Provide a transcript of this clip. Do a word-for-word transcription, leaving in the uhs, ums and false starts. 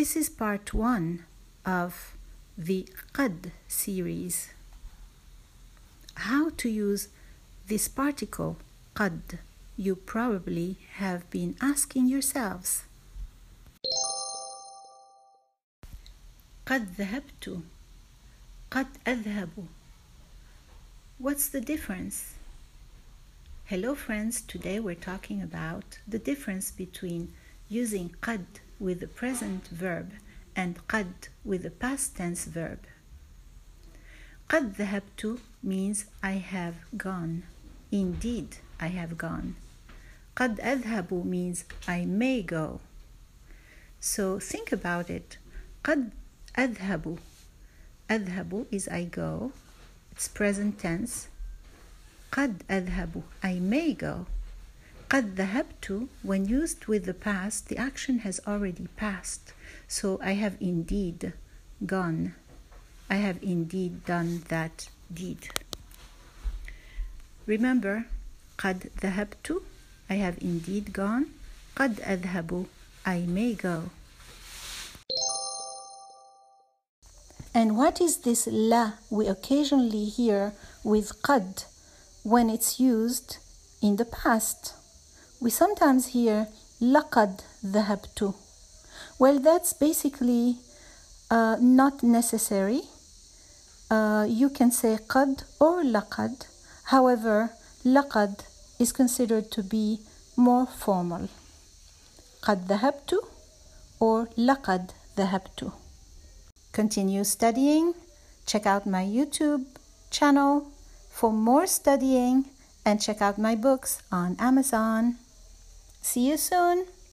This is part one of the قد series. How to use this particle قد, you probably have been asking yourselves. قد ذهبت, قد أذهب. What's the difference? Hello friends, today we're talking about the difference between using قد with the present verb and قد with the past tense verb. قد ذهبت means I have gone. Indeed, I have gone. قد أذهب means I may go. So think about it. قد أذهب. أذهب is I go. It's present tense. قد أذهب, I may go. قد ذهبت, when used with the past, the action has already passed. So I have indeed gone. I have indeed done that deed. Remember, قد ذهبت, I have indeed gone. قد أذهب, I may go. And what is this la we occasionally hear with قد when it's used in the past? We sometimes hear لقد ذهبت. Well, that's basically uh, not necessary. Uh, you can say قد or لقد. However, لقد is considered to be more formal. قد ذهبت or لقد ذهبت. Continue studying. Check out my YouTube channel for more studying and check out my books on Amazon. See you soon.